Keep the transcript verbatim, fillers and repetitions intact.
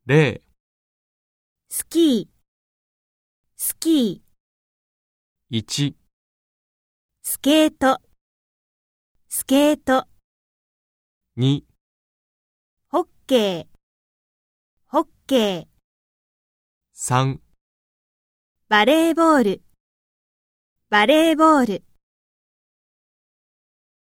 ゼロ、 スキー、スキー、 いち、 スケート、スケート、 に、 ホッケー、ホッケー、 さん、 バレーボール、バレーボール。